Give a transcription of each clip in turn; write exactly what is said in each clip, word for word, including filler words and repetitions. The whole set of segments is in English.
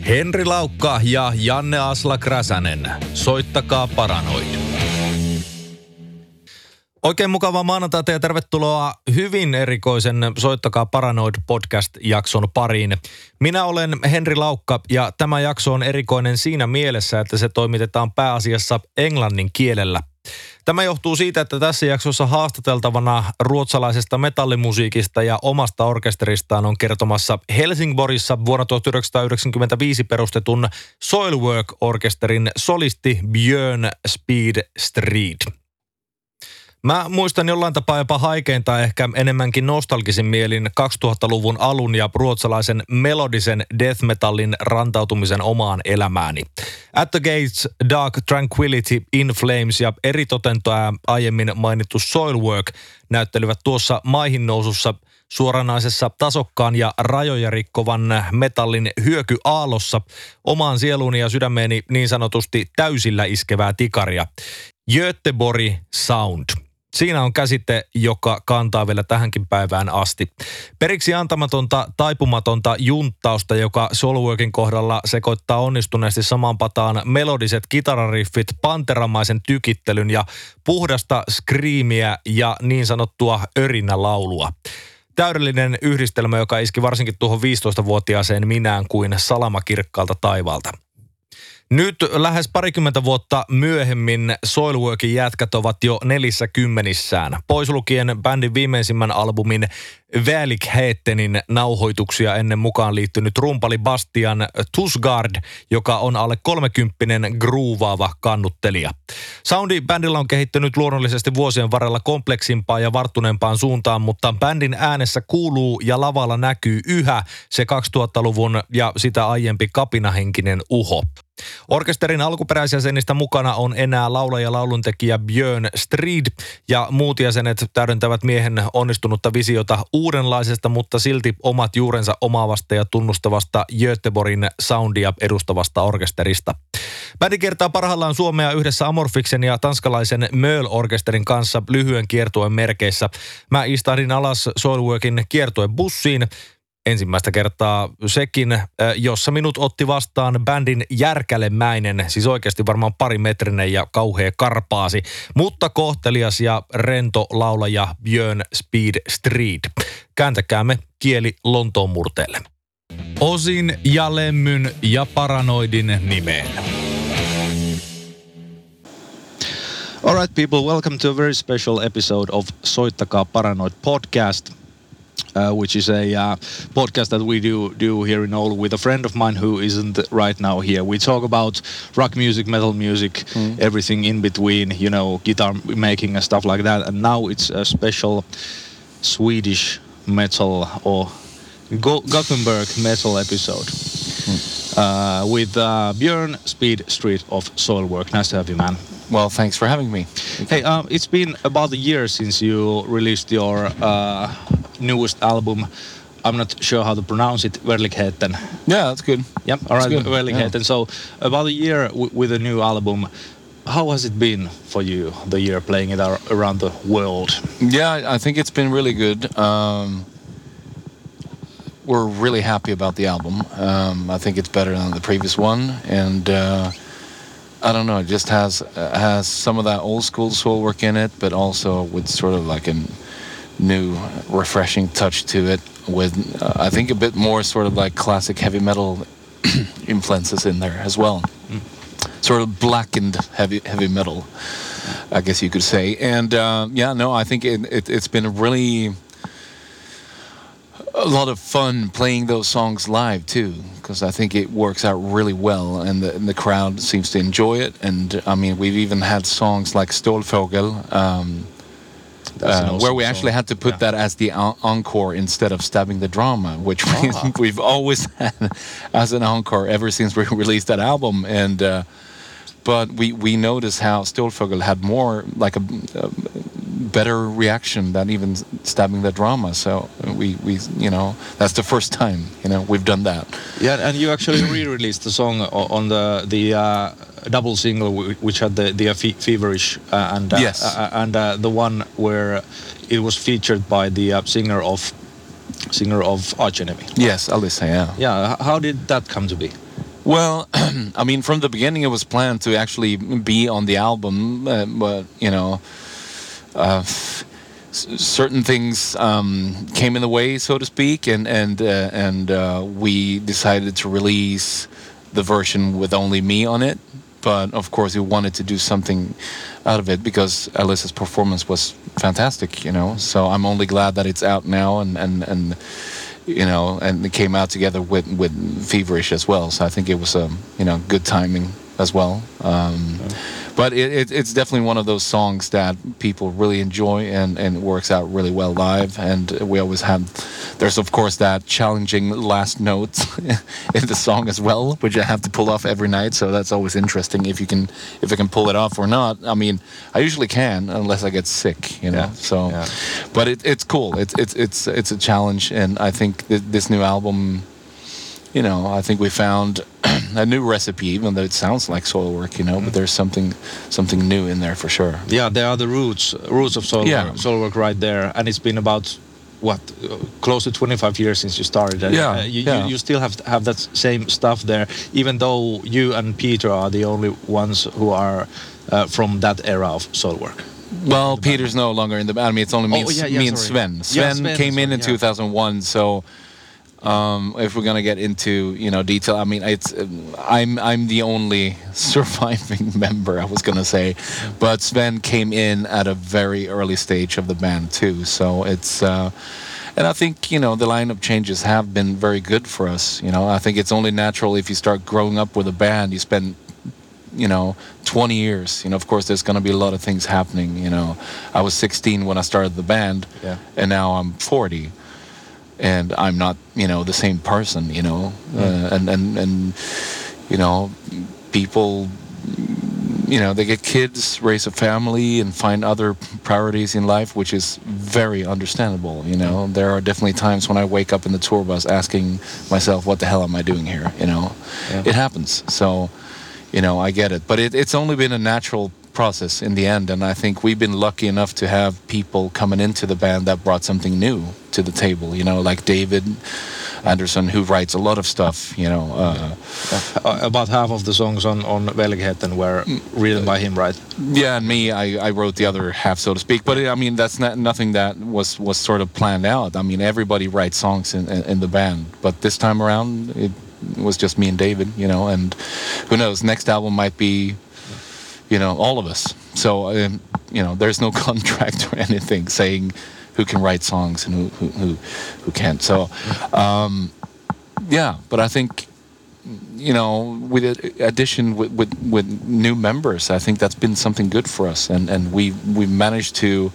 Henri Laukka ja Janne Aslak-Räsänen. Soittakaa Paranoid. Oikein mukavaa maanantaita ja tervetuloa hyvin erikoisen Soittakaa Paranoid podcast-jakson pariin. Minä olen Henri Laukka ja tämä jakso on erikoinen siinä mielessä, että se toimitetaan pääasiassa englannin kielellä. Tämä johtuu siitä, että tässä jaksossa haastateltavana ruotsalaisesta metallimusiikista ja omasta orkesteristaan on kertomassa Helsingborissa vuonna tuhatyhdeksänsataayhdeksänkymmentäviisi perustetun Soilwork-orkesterin solisti Björn Speed Strid. Mä muistan jollain tapaa jopa haikein tai ehkä enemmänkin nostalgisin mielin kaksituhattaluvun alun ja ruotsalaisen melodisen death metallin rantautumisen omaan elämääni. At the Gates, Dark Tranquility, In Flames ja eritoten tämä aiemmin mainittu Soilwork näyttelivät tuossa maihin nousussa suoranaisessa tasokkaan ja rajoja rikkovan metallin hyökyaallossa omaan sieluuni ja sydämeeni niin sanotusti täysillä iskevää tikaria. Göteborg Sound. Siinä on käsite, joka kantaa vielä tähänkin päivään asti. Periksi antamatonta, taipumatonta junttausta, joka Soilworkin kohdalla sekoittaa onnistuneesti samaan pataan melodiset kitarariffit, panteramaisen tykittelyn ja puhdasta skriimiä ja niin sanottua örinälaulua. Täydellinen yhdistelmä, joka iski varsinkin tuohon viisitoistavuotiaaseen minään kuin salamakirkkaalta taivaalta. Nyt lähes parikymmentä vuotta myöhemmin Soilworkin jätkät ovat jo nelissä kymmenissään. Pois lukien bändin viimeisimmän albumin Välikhetenin nauhoituksia ennen mukaan liittynyt rumpali Bastian Tusgard, joka on alle kolmekymppinen groovaava kannuttelija. Soundi bändillä on kehittynyt luonnollisesti vuosien varrella kompleksimpaan ja varttuneempaan suuntaan, mutta bändin äänessä kuuluu ja lavalla näkyy yhä se kaksituhattaluvun ja sitä aiempi kapinahenkinen uho. Orkesterin alkuperäisjäsenistä mukana on enää laulaja ja lauluntekijä Björn Strid ja muut jäsenet täydentävät miehen onnistunutta visiota uudenlaisesta, mutta silti omat juurensa omaavasta ja tunnustavasta Göteborgin soundia edustavasta orkesterista. Bändi kiertää parhaillaan Suomea yhdessä Amorfiksen ja tanskalaisen Möl-orkesterin kanssa lyhyen kiertueen merkeissä. Mä istahdin alas Soilworkin kiertueen bussiin. Ensimmäistä kertaa sekin, jossa minut otti vastaan bändin järkälemäinen, siis oikeasti varmaan parimetrinen ja kauhea karpaasi, mutta kohtelias ja rento laulaja Björn Speed Strid. Kääntäkäämme kieli Lontoon murteelle. Osin ja Lemmyn ja Paranoidin nimeen. All right, people, welcome to a very special episode of Soittakaa Paranoid podcast. Uh, which is a uh, podcast that we do do here in Oulu with a friend of mine who isn't right now here. We talk about rock music, metal music, mm. everything in between, you know, guitar making and stuff like that. And now it's a special Swedish metal or Go- Gothenburg metal episode mm. uh, with uh, Björn Speed Strid of Soilwork. Nice to have you, man. Well, thanks for having me. Hey, um, it's been about a year since you released your uh, newest album. I'm not sure how to pronounce it. Välikheten. Yeah, that's good. Yep. All right. Välikheten. Yeah. So about a year w- with a new album. How has it been for you? The year playing it ar- around the world. Yeah, I think it's been really good. Um, we're really happy about the album. Um, I think it's better than the previous one, and uh, I don't know. It just has uh, has some of that old school Soilwork in it, but also with sort of like a new, refreshing touch to it with, uh, I think, a bit more sort of like classic heavy metal influences in there as well. Mm. Sort of blackened heavy heavy metal, I guess you could say. And uh, yeah, no, I think it, it, it's been really a lot of fun playing those songs live too, because I think it works out really well, and the, and the crowd seems to enjoy it. And I mean, we've even had songs like Stålfågel, um, Uh, awesome where we song. actually had to put yeah. that as the en- encore instead of Stabbing the Drama, which ah. we, we've always had as an encore ever since we released that album. And uh, but we we noticed how Stålfågel had more like a, a better reaction than even Stabbing the Drama. So we we you know that's the first time you know we've done that. Yeah, and you actually re-released the song on the the. Uh, double single which had the the fe- feverish uh, and uh, yes. uh, and uh, the one where it was featured by the uh, singer of singer of Arch Enemy. Yes, Alyssa. Yeah. Yeah. How did that come to be? Well, I mean, from the beginning, it was planned to actually be on the album, uh, but you know, uh, s- certain things um, came in the way, so to speak, and and uh, and uh, we decided to release the version with only me on it. But of course, we wanted to do something out of it because Alyssa's performance was fantastic, you know. So I'm only glad that it's out now, and and and. you know, and it came out together with, with Feverish as well. So I think it was a, you know, good timing as well. Um, yeah. But it, it, it's definitely one of those songs that people really enjoy, and, and it works out really well live. And we always have, there's of course that challenging last note in the song as well, which I have to pull off every night. So that's always interesting if you can, if I can pull it off or not. I mean, I usually can unless I get sick, you know. Yeah. So, yeah. but it, it's cool. It's it's it's it's a challenge, and I think th- this new album, you know, I think we found a new recipe, even though it sounds like Soilwork, you know, mm. but there's something something new in there for sure. Yeah, there are the roots roots of Soilwork, yeah. Soilwork right there, and it's been about what uh, close to twenty-five years since you started. And, yeah, uh, you, yeah. You, you still have have that same stuff there, even though you and Peter are the only ones who are uh, from that era of Soilwork. Well, Peter's no longer in the band. I mean, it's only me, oh, and, yeah, yeah, me and sorry. Sven. Sven, yeah, Sven came sorry, in in yeah. two thousand one, so um, if we're gonna get into you know detail, I mean, it's I'm I'm the only surviving member. I was gonna say, but Sven came in at a very early stage of the band too, so it's. Uh, And I think, you know, the lineup changes have been very good for us. You know, I think it's only natural if you start growing up with a band, you spend, you know, twenty years. You know, of course, there's going to be a lot of things happening. You know, I was sixteen when I started the band, yeah. and now I'm forty. And I'm not, you know, the same person, you know. Mm. Uh, and, and, and, you know, people... You know, they get kids, raise a family, and find other priorities in life, which is very understandable. You know, there are definitely times when I wake up in the tour bus asking myself, "What the hell am I doing here?" You know, yeah. It happens. So, you know, I get it. But it, it's only been a natural process in the end, and I think we've been lucky enough to have people coming into the band that brought something new to the table. You know, like David Anderson, who writes a lot of stuff, you know. Uh, uh, about half of the songs on, on Velgheten were written by him, right? Yeah, and me, I, I wrote the other half, so to speak. But, I mean, that's not nothing that was, was sort of planned out. I mean, everybody writes songs in, in, in the band. But this time around, it was just me and David, you know. And who knows, next album might be, you know, all of us. So, um, you know, there's no contract or anything saying... who can write songs and who who who, who can't. So, um, yeah. But I think, you know, with addition with, with with new members, I think that's been something good for us, and and we we managed to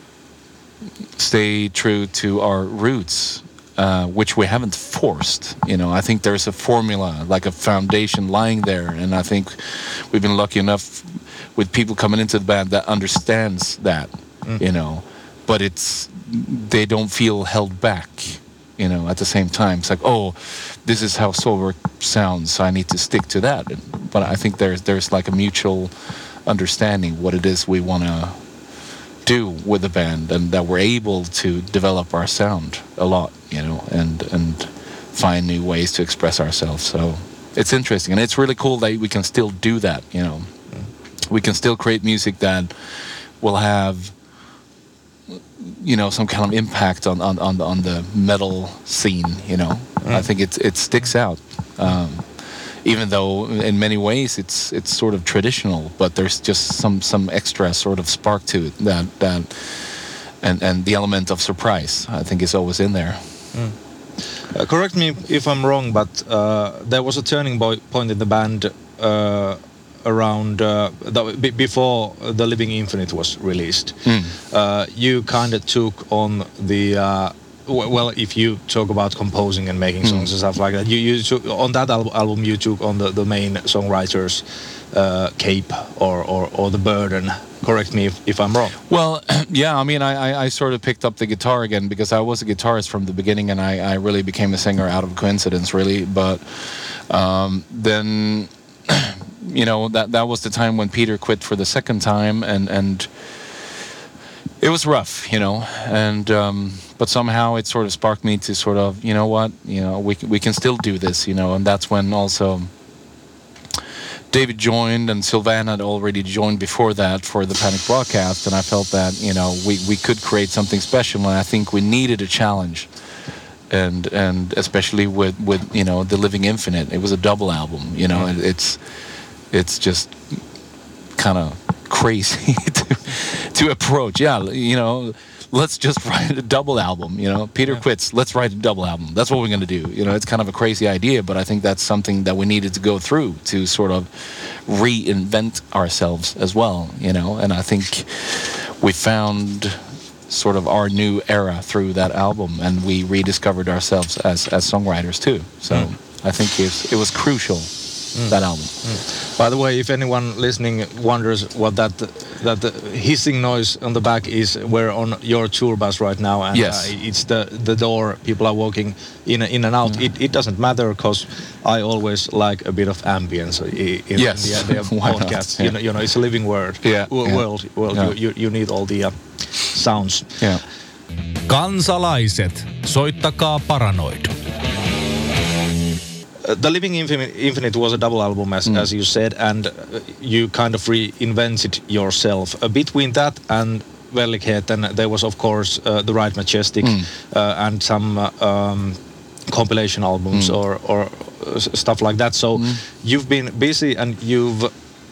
stay true to our roots, uh, which we haven't forced. You know, I think there's a formula, like a foundation lying there, and I think we've been lucky enough with people coming into the band that understands that. Mm. You know. But it's they don't feel held back, you know. At the same time, it's like, oh, this is how Soilwork sounds, so I need to stick to that. But I think there's there's like a mutual understanding what it is we want to do with the band, and that we're able to develop our sound a lot, you know, and and find new ways to express ourselves. So it's interesting, and it's really cool that we can still do that. You know, we can still create music that will have. You know, some kind of impact on on, on, on the metal scene, you know. Mm. I think it it sticks out. Um, even though in many ways it's it's sort of traditional, but there's just some, some extra sort of spark to it that that and, and the element of surprise, I think, is always in there. Mm. Uh, correct me if I'm wrong, but uh, there was a turning point in the band uh, around uh, the, b- before The Living Infinite was released. Mm. Uh, you kind of took on the uh, w- well, if you talk about composing and making songs mm. and stuff like that, you, you took on that al- album you took on the, the main songwriter's uh, cape or, or or the burden. Correct me if, if I'm wrong. Well, yeah, I mean, I, I sort of picked up the guitar again because I was a guitarist from the beginning, and I, I really became a singer out of coincidence, really. But um, then. You know, that that was the time when Peter quit for the second time, and and it was rough, you know. And um, but somehow it sort of sparked me to sort of, you know what, you know, we we can still do this, you know. And that's when also David joined and Sylvain had already joined before that for the Panic broadcast, and I felt that, you know, we, we could create something special, and I think we needed a challenge. And and especially with, with you know, The Living Infinite, it was a double album, you know, mm. it's it's just kind of crazy to, to approach. Yeah, you know, let's just write a double album, you know. Peter yeah. quits, let's write a double album. That's what we're going to do. You know, it's kind of a crazy idea, but I think that's something that we needed to go through to sort of reinvent ourselves as well, you know. And I think we found sort of our new era through that album, and we rediscovered ourselves as, as songwriters too. So mm. I think it's, it was crucial. Mm. That album. Mm. By the way, if anyone listening wonders what that that hissing noise on the back is, we're on your tour bus right now, and yes. uh, it's the the door. People are walking in in and out. Mm. It it doesn't matter because I always like a bit of ambience in, in yes. the, the podcast. Yeah. You know, you know, it's a living word. Yeah. W- yeah. World. Well, yeah. you, you you need all the uh, sounds. Yeah. Kansalaiset, soittakaa Paranoid. Uh, The Living Infinite, Infinite was a double album, as, mm. as you said, and uh, you kind of reinvented yourself. Uh, between that and Velligheten, there was, of course, uh, The Ride Majestic mm. uh, and some uh, um, compilation albums mm. or, or uh, stuff like that. So mm. you've been busy, and you've...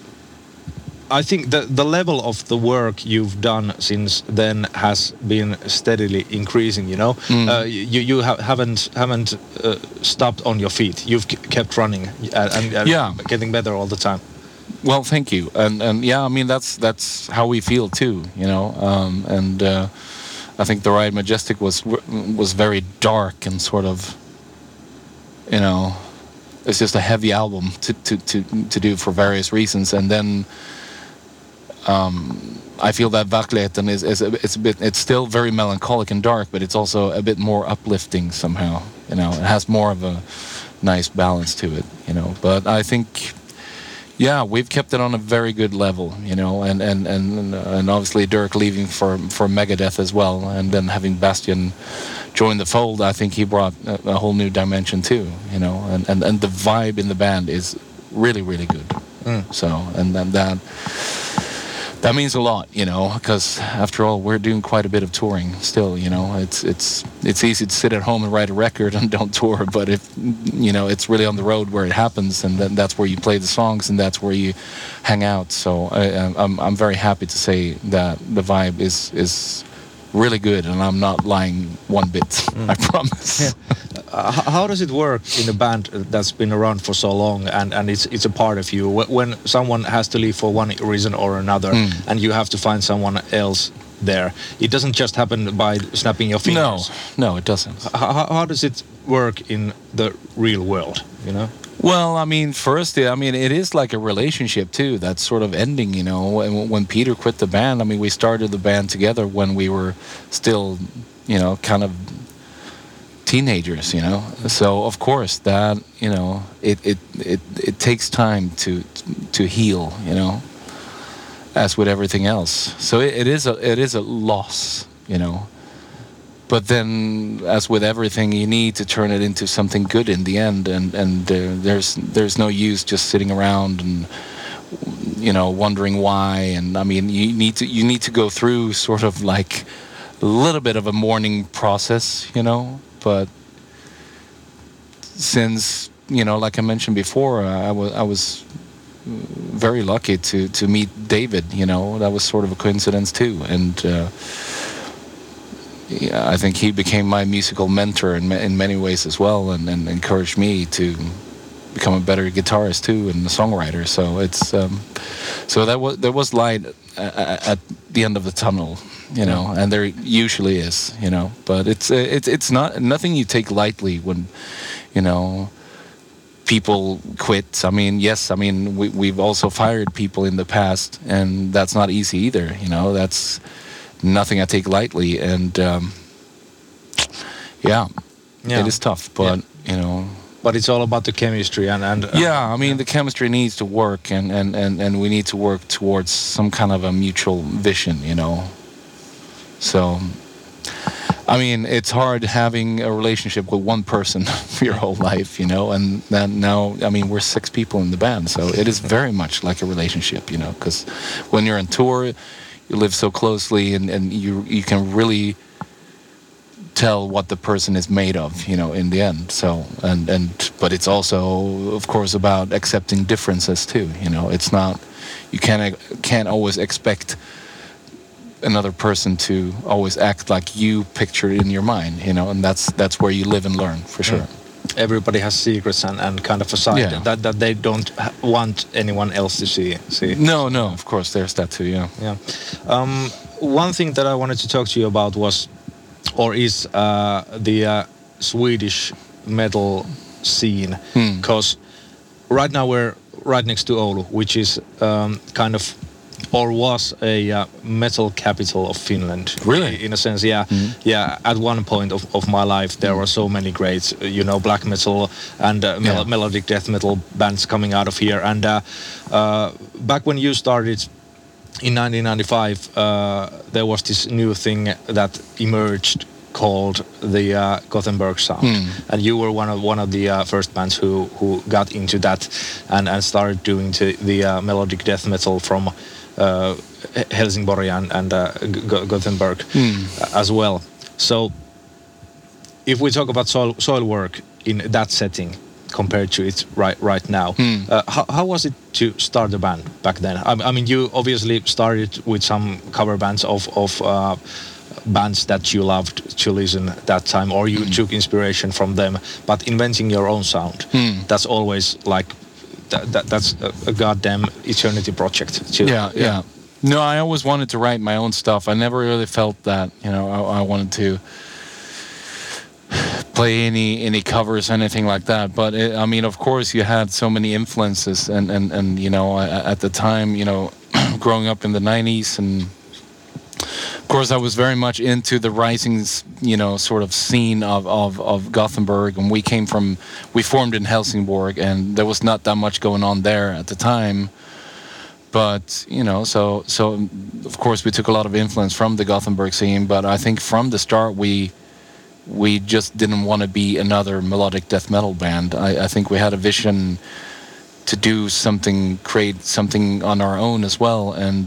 I think the the level of the work you've done since then has been steadily increasing. You know, mm. uh, you you ha- haven't haven't uh, stopped on your feet. You've k- kept running and, and, and yeah. getting better all the time. Well, thank you, and and yeah, I mean that's that's how we feel too. You know, um, and uh, I think The Ride Majestic was was very dark and sort of, you know, it's just a heavy album to to to, to do for various reasons, and then. Um, I feel that Verkligheten is, is a, it's a bit, it's still very melancholic and dark, but it's also a bit more uplifting somehow. You know, it has more of a nice balance to it. You know, but I think, yeah, we've kept it on a very good level. You know, and and and and obviously Dirk leaving for for Megadeth as well, and then having Bastian join the fold, I think he brought a, a whole new dimension too. You know, and, and and the vibe in the band is really really good. Mm. So and then that. That means a lot, you know, because after all, we're doing quite a bit of touring still, you know. It's it's it's easy to sit at home and write a record and don't tour, but if, you know, it's really on the road where it happens, and then that's where you play the songs and that's where you hang out. So I, I'm I'm very happy to say that the vibe is is really good, and I'm not lying one bit. Mm. I promise. Yeah. Uh, how does it work in a band that's been around for so long, and, and it's it's a part of you? When someone has to leave for one reason or another, mm. and you have to find someone else there, it doesn't just happen by snapping your fingers. No, no, it doesn't. How, how does it work in the real world? You know. Well, I mean, first, I mean, it is like a relationship too. That's sort of ending, you know. When, when Peter quit the band, I mean, we started the band together when we were still, you know, kind of teenagers, you know. So of course that, you know, it it it, it takes time to to heal, you know, as with everything else. So it, it is a it is a loss, you know. But then, as with everything, you need to turn it into something good in the end, and and uh, there's there's no use just sitting around and, you know, wondering why. And I mean, you need to you need to go through sort of like a little bit of a mourning process, you know. But since, you know, like I mentioned before, I was I was very lucky to to meet David. You know, that was sort of a coincidence too, and. Uh, Yeah, I think he became my musical mentor in in many ways as well, and, and encouraged me to become a better guitarist too and a songwriter. So it's um, so that was there was light at, at the end of the tunnel, you know, and there usually is, you know. But it's it's it's not nothing you take lightly when, you know, people quit. I mean, yes, I mean we we've also fired people in the past, and that's not easy either. You know, that's nothing I take lightly, and um, yeah, yeah, it is tough, but yeah. you know. But it's all about the chemistry and and. Uh, yeah, I mean yeah. the chemistry needs to work, and, and, and, and we need to work towards some kind of a mutual vision, you know. So I mean, it's hard having a relationship with one person for your whole life, you know, and then now, I mean, we're six people in the band, so it is very much like a relationship, you know, because when you're on tour, you live so closely, and, and you you can really tell what the person is made of, you know, in the end. So, and, and but it's also, of course, about accepting differences too, you know. It's not, you can't, can't always expect another person to always act like you picture it in your mind, you know, and that's that's where you live and learn, for sure. Mm. Everybody has secrets and, and kind of a side Yeah. that, that they don't ha- want anyone else to see. see. No, no, of course, there's that too, yeah. Yeah. Um, one thing that I wanted to talk to you about was, or is, uh, the uh, Swedish metal scene. Hmm. Because right now we're right next to Oulu, which is um, kind of, or was a uh, metal capital of Finland. Really? In a sense, yeah. Yeah, at one point of, of my life, there were so many great, uh, you know, black metal and uh, mel- Yeah. melodic death metal bands coming out of here. And uh, uh, back when you started in nineteen ninety-five, uh, there was this new thing that emerged called the uh, Gothenburg sound, and you were one of one of the uh, first bands who who got into that and, and started doing the, the uh, melodic death metal from uh, Helsingborg and, and uh, G- Gothenburg as well. So, if we talk about soil, soil work in that setting compared to it right right now, uh, how, how was it to start a band back then? I, I mean, you obviously started with some cover bands of of uh, bands that you loved to listen that time, or you took inspiration from them. But inventing your own sound, that's always like that, that that's a, a goddamn eternity project. Too. Yeah, yeah. No, I always wanted to write my own stuff. I never really felt that, you know, I, I wanted to play any any covers, anything like that. But it, I mean, of course, you had so many influences, and and and you know, at the time, you know, growing up in the nineties, and of course, I was very much into the rising, you know, sort of scene of of of Gothenburg, and we came from, we formed in Helsingborg, and there was not that much going on there at the time. But, you know, so so of course we took a lot of influence from the Gothenburg scene, but I think from the start we we just didn't want to be another melodic death metal band. I, I think we had a vision to do something, create something on our own as well, and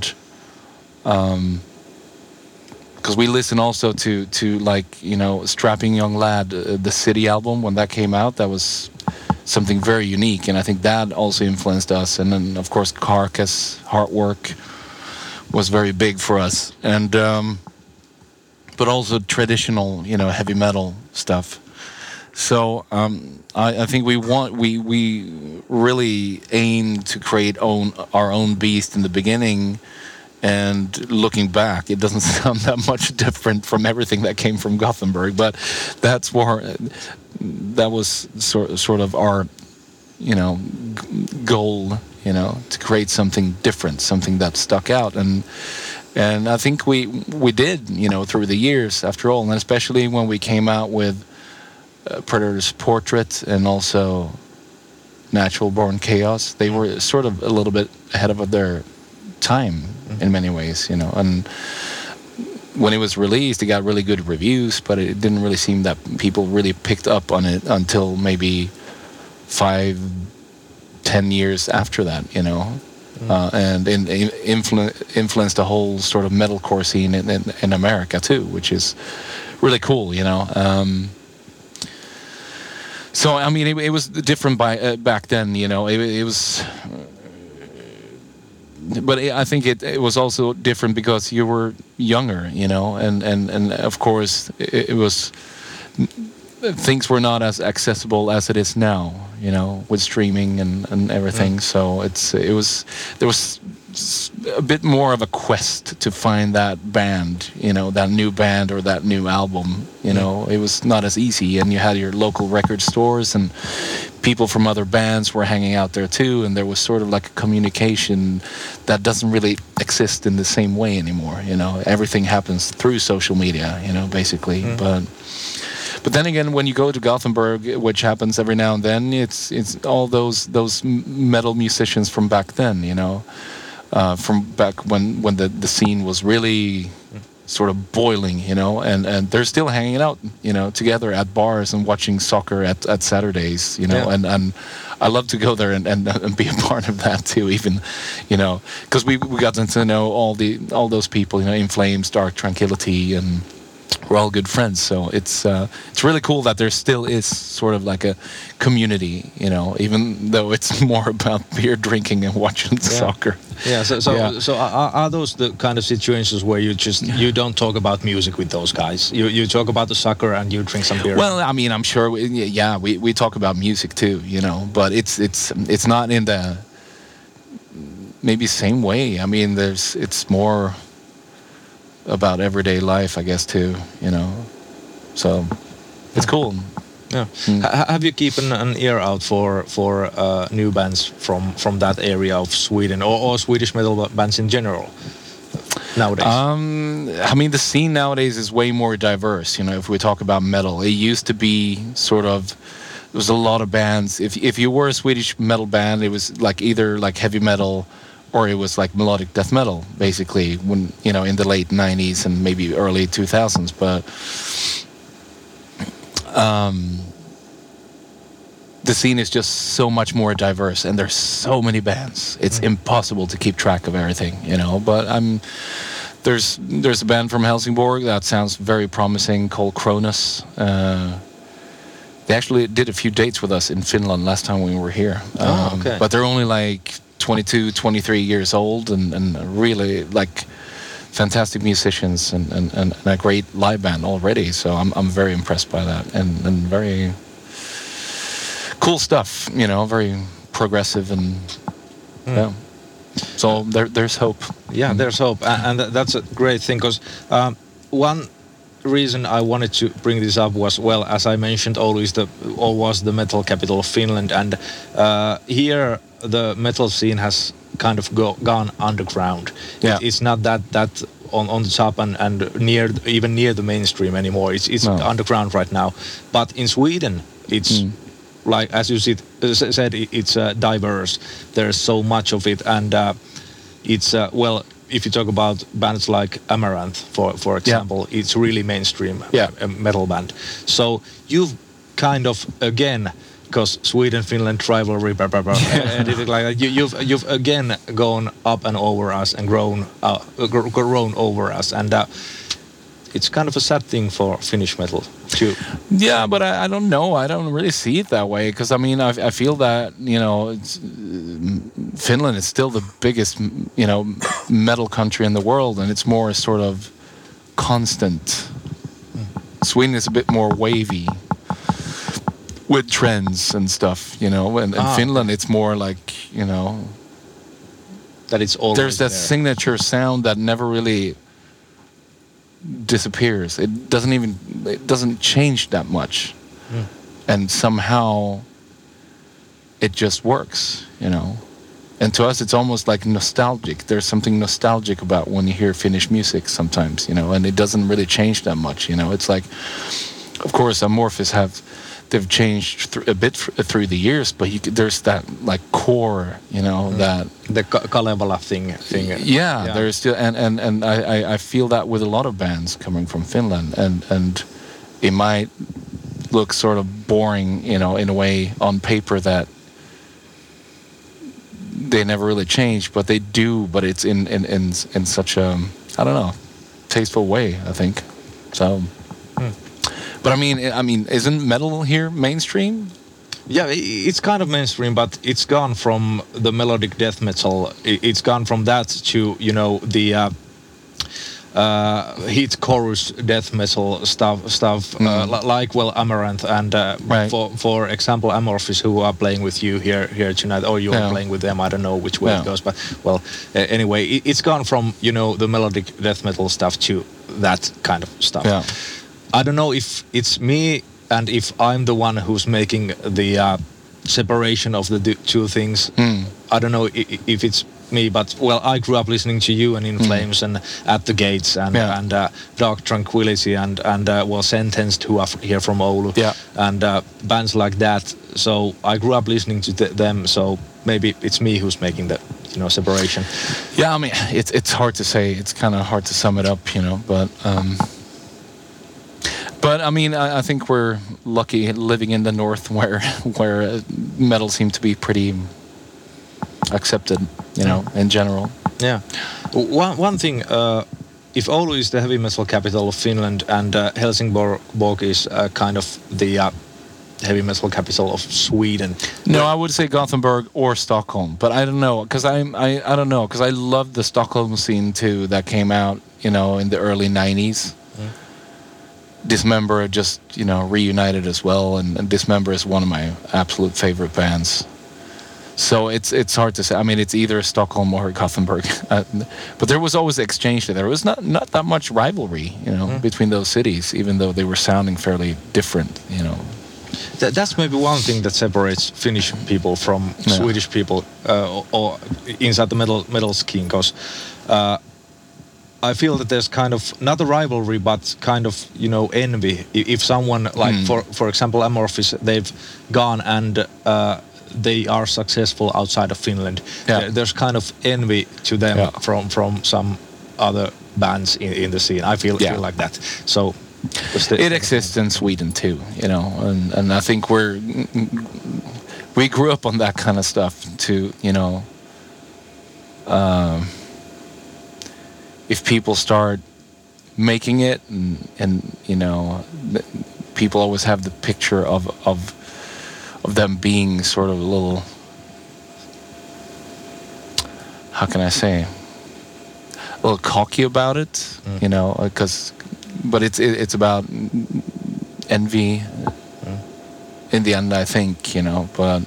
um, because we listen also to to like, you know, Strapping Young Lad, uh, the City album, when that came out, that was something very unique, and I think that also influenced us. And then of course Carcass, Heartwork was very big for us, and um, but also traditional, you know, heavy metal stuff. So um, I, I think we want we we really aim to create own our own beast in the beginning. And looking back, it doesn't sound that much different from everything that came from Gothenburg, but that's where that was sort sort of our, you know, g- goal, you know, to create something different, something that stuck out, and and I think we we did, you know, through the years, after all, and especially when we came out with uh, Predator's Portrait and also Natural Born Chaos, they were sort of a little bit ahead of their time in many ways, you know, and when it was released, it got really good reviews, but it didn't really seem that people really picked up on it until maybe five, ten years after that, you know, mm. uh, and in, in influ- influenced the whole sort of metalcore scene in, in, in America too, which is really cool, you know. Um, so I mean, it, it was different by uh, back then, you know. It, it was. But I think it, it was also different because you were younger, you know, and, and, and of course it, it was, things were not as accessible as it is now, you know, with streaming and, and everything. Mm. So it's it was there was a bit more of a quest to find that band, you know, that new band or that new album, you mm. know. It was not as easy, and you had your local record stores and people from other bands were hanging out there too, and there was sort of like a communication that doesn't really exist in the same way anymore, you know. Everything happens through social media, you know, basically. Mm. But but then again, when you go to Gothenburg, which happens every now and then, it's it's all those those metal musicians from back then, you know, uh, from back when when the the scene was really sort of boiling, you know, and, and they're still hanging out, you know, together at bars and watching soccer at, at Saturdays, you know, Yeah. and, and I love to go there and, and, and be a part of that too, even, you know, because we we got to know all the all those people, you know, In Flames, Dark Tranquillity, and we're all good friends. So it's uh, it's really cool that there still is sort of like a community, you know, even though it's more about beer drinking and watching Yeah. soccer. Yeah, so so, Yeah. so are, are those the kind of situations where you just you don't talk about music with those guys? You you talk about the soccer and you drink some beer. Well, I mean, I'm sure. We, yeah, we, we talk about music too, you know, but it's it's it's not in the maybe same way. I mean, there's it's more about everyday life, I guess, too, you know. So it's cool. Yeah. Ha- have you keeping an ear out for for uh, new bands from from that area of Sweden or, or Swedish metal bands in general nowadays? Um, I mean, the scene nowadays is way more diverse. You know, if we talk about metal, it used to be sort of there was a lot of bands. If if you were a Swedish metal band, it was like either like heavy metal or it was like melodic death metal, basically. When you know, in the late nineties and maybe early two thousands, but. Um, the scene is just so much more diverse, and there's so many bands. It's mm. impossible to keep track of everything, you know. But I'm there's there's a band from Helsingborg that sounds very promising called Cronus. Uh, they actually did a few dates with us in Finland last time we were here. Um, oh, okay. But they're only like twenty-two, twenty-three years old, and, and really like. Fantastic musicians and, and, and a great live band already, so I'm I'm very impressed by that, and, and very cool stuff, you know, very progressive, and mm. yeah. So there there's hope. Yeah, mm. there's hope, and, and that's a great thing because um, one reason I wanted to bring this up was, well, as I mentioned, Oulu is the or was the metal capital of Finland, and uh, here the metal scene has kind of go, gone underground. Yeah. It, it's not that that on, on the top and, and near even near the mainstream anymore. It's it's No. underground right now. But in Sweden, it's Mm. like as you said, said it's uh, diverse. There's so much of it, and uh, it's uh, well. If you talk about bands like Amaranth, for for example, yeah. it's really mainstream yeah. metal band. So you've kind of again. Because Sweden, Finland rivalry, blah, blah, blah, and it, like you, you've you've again gone up and over us and grown uh, grown over us, and uh, it's kind of a sad thing for Finnish metal too. Yeah, but I, I don't know. I don't really see it that way because I mean I, I feel that you know it's, uh, Finland is still the biggest you know metal country in the world, and it's more sort of constant. Mm. Sweden is a bit more wavy. With trends and stuff, you know, and, and ah. Finland, it's more like, you know, that it's always there's that there. signature sound that never really disappears. It doesn't even, it doesn't change that much. Mm. And somehow it just works, you know. And to us, it's almost like nostalgic. There's something nostalgic about when you hear Finnish music sometimes, you know, and it doesn't really change that much, you know. It's like, of course, Amorphis have... They've changed th- a bit th- through the years, but you, there's that like core, you know, mm. that the Ka- Kalevala thing. thing. Yeah, yeah, there's still, and and and I, I feel that with a lot of bands coming from Finland, and and it might look sort of boring, you know, in a way on paper that they never really change, but they do. But it's in in in, in such a I don't know, tasteful way, I think. So. Mm. But I mean, I mean, isn't metal here mainstream? Yeah, it's kind of mainstream, but it's gone from the melodic death metal. It's gone from that to you know the uh, uh, hit chorus death metal stuff. Stuff mm. uh, like well Amaranth and uh, right. for for example Amorphis, who are playing with you here here tonight, or you are yeah. playing with them. I don't know which way yeah. it goes, but well, uh, anyway, it's gone from you know the melodic death metal stuff to that kind of stuff. Yeah. I don't know if it's me and if I'm the one who's making the uh, separation of the two things. Mm. I don't know if, if it's me, but well, I grew up listening to you and In Flames mm. and At the Gates and yeah. and uh, Dark Tranquillity and and uh, well, Sentenced, who are here from Oulu, yeah. and uh, bands like that. So I grew up listening to th- them. So maybe it's me who's making the you know, separation? Yeah, I mean, it's it's hard to say. It's kind of hard to sum it up, you know. But um, but I mean, I, I think we're lucky living in the north, where where metal seemed to be pretty accepted, you know, in general. Yeah. One one thing. Uh, If Oulu is the heavy metal capital of Finland and uh, Helsingborg is uh, kind of the uh, heavy metal capital of Sweden. No, I would say Gothenburg or Stockholm, but I don't know because I'm I, I don't know because I love the Stockholm scene too that came out, you know, in the early nineties. Mm. Dismember just, you know, reunited as well, and, and Dismember is one of my absolute favorite bands. So it's it's hard to say. I mean, it's either Stockholm or Gothenburg, uh, but there was always exchange there. There was not not that much rivalry, you know, mm. between those cities, even though they were sounding fairly different, you know. Th- that's maybe one thing that separates Finnish people from yeah. Swedish people, uh, or, or inside the metal metal scene, because uh, I feel that there's kind of not a rivalry, but kind of, you know, envy. If someone like, mm. for for example, Amorphis, they've gone and uh, they are successful outside of Finland. Yeah. There, there's kind of envy to them yeah. from from some other bands in, in the scene. I feel, yeah. feel like that. So it exists in Sweden too, you know, and, and I think we're we grew up on that kind of stuff to, you know, um, if people start making it and, and you know, people always have the picture of of of them being sort of a little, how can I say, a little cocky about it, mm. you know, because, but it's it, it's about envy mm. in the end, I think, you know, but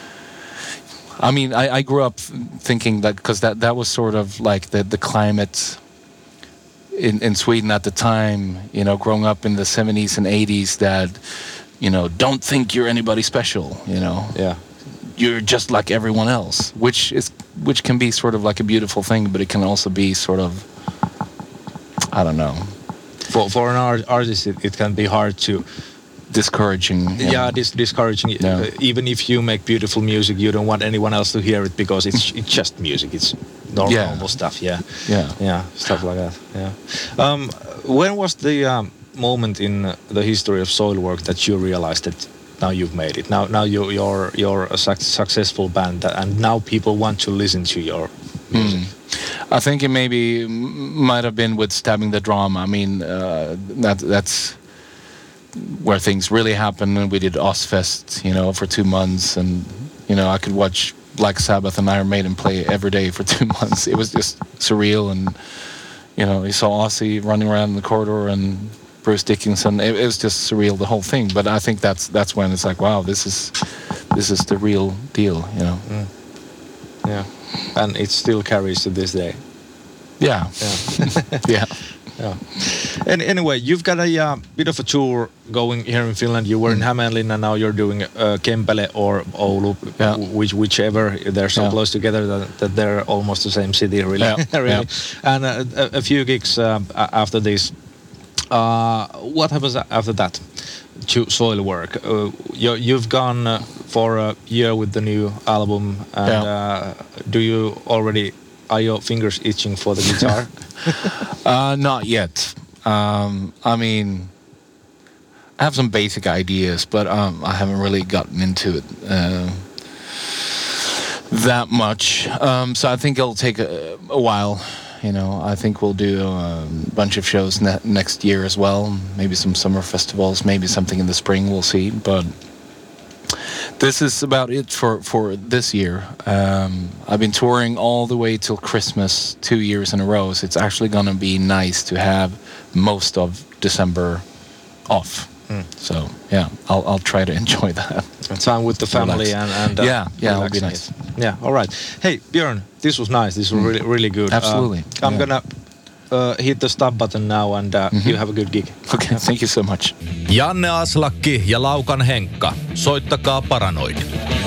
I mean, I, I grew up thinking that, because that, that was sort of like the, the climate in, in Sweden at the time, you know, growing up in the seventies and eighties, that, you know, don't think you're anybody special, you know. Yeah. You're just like everyone else, which is which can be sort of like a beautiful thing, but it can also be sort of, I don't know. For for an art, artist, it, it can be hard to discouraging. Yeah, dis- discouraging. Yeah. Uh, even if you make beautiful music, you don't want anyone else to hear it because it's it's just music. It's normal, yeah. normal stuff. Yeah. Yeah. Yeah. Stuff like that. Yeah. Um, when was the um, moment in the history of Soilwork that you realized that now you've made it? Now, now you, you're you're a su- successful band, and now people want to listen to your music. Mm. I think it maybe might have been with Stabbing the Drama. I mean, uh, that that's where things really happened. And we did Ozfest, you know, for two months, and you know, I could watch Black Sabbath and Iron Maiden play every day for two months. It was just surreal, and you know, you saw Ozzy running around in the corridor and Bruce Dickinson. It, it was just surreal, the whole thing. But I think that's that's when it's like, wow, this is this is the real deal, you know. Mm. Yeah, and it still carries to this day. Yeah, yeah, yeah. Yeah. And anyway, you've got a uh, bit of a tour going here in Finland. You were mm. in Hämeenlinna, now you're doing uh, Kempele or Oulu, yeah. which whichever. They're so yeah. close together that, that they're almost the same city, really. Yeah. really. Yeah. And uh, a, a few gigs uh, after this. Uh, what happens after that to Soilwork? Uh, you, you've gone uh, for a year with the new album, and yeah. uh, do you already, are your fingers itching for the guitar? uh, not yet. Um, I mean, I have some basic ideas, but um, I haven't really gotten into it uh, that much. Um, so I think it'll take a, a while. You know, I think we'll do a bunch of shows ne- next year as well. Maybe some summer festivals, maybe something in the spring, we'll see. But this is about it for, for this year. Um, I've been touring all the way till Christmas, two years in a row. So it's actually going to be nice to have most of December off. Mm. So, yeah, I'll I'll try to enjoy that. Time with the family and, and uh, yeah, yeah, it'll be nice. Yeah, all right. Hey, Björn, this was nice. This was really, really good. Absolutely. Uh, I'm yeah. gonna uh, hit the stop button now, and uh, mm-hmm. you have a good gig. Okay, thank you so much. Janne Aslakki ja Laukan Henkka. Soittakaa Paranoid.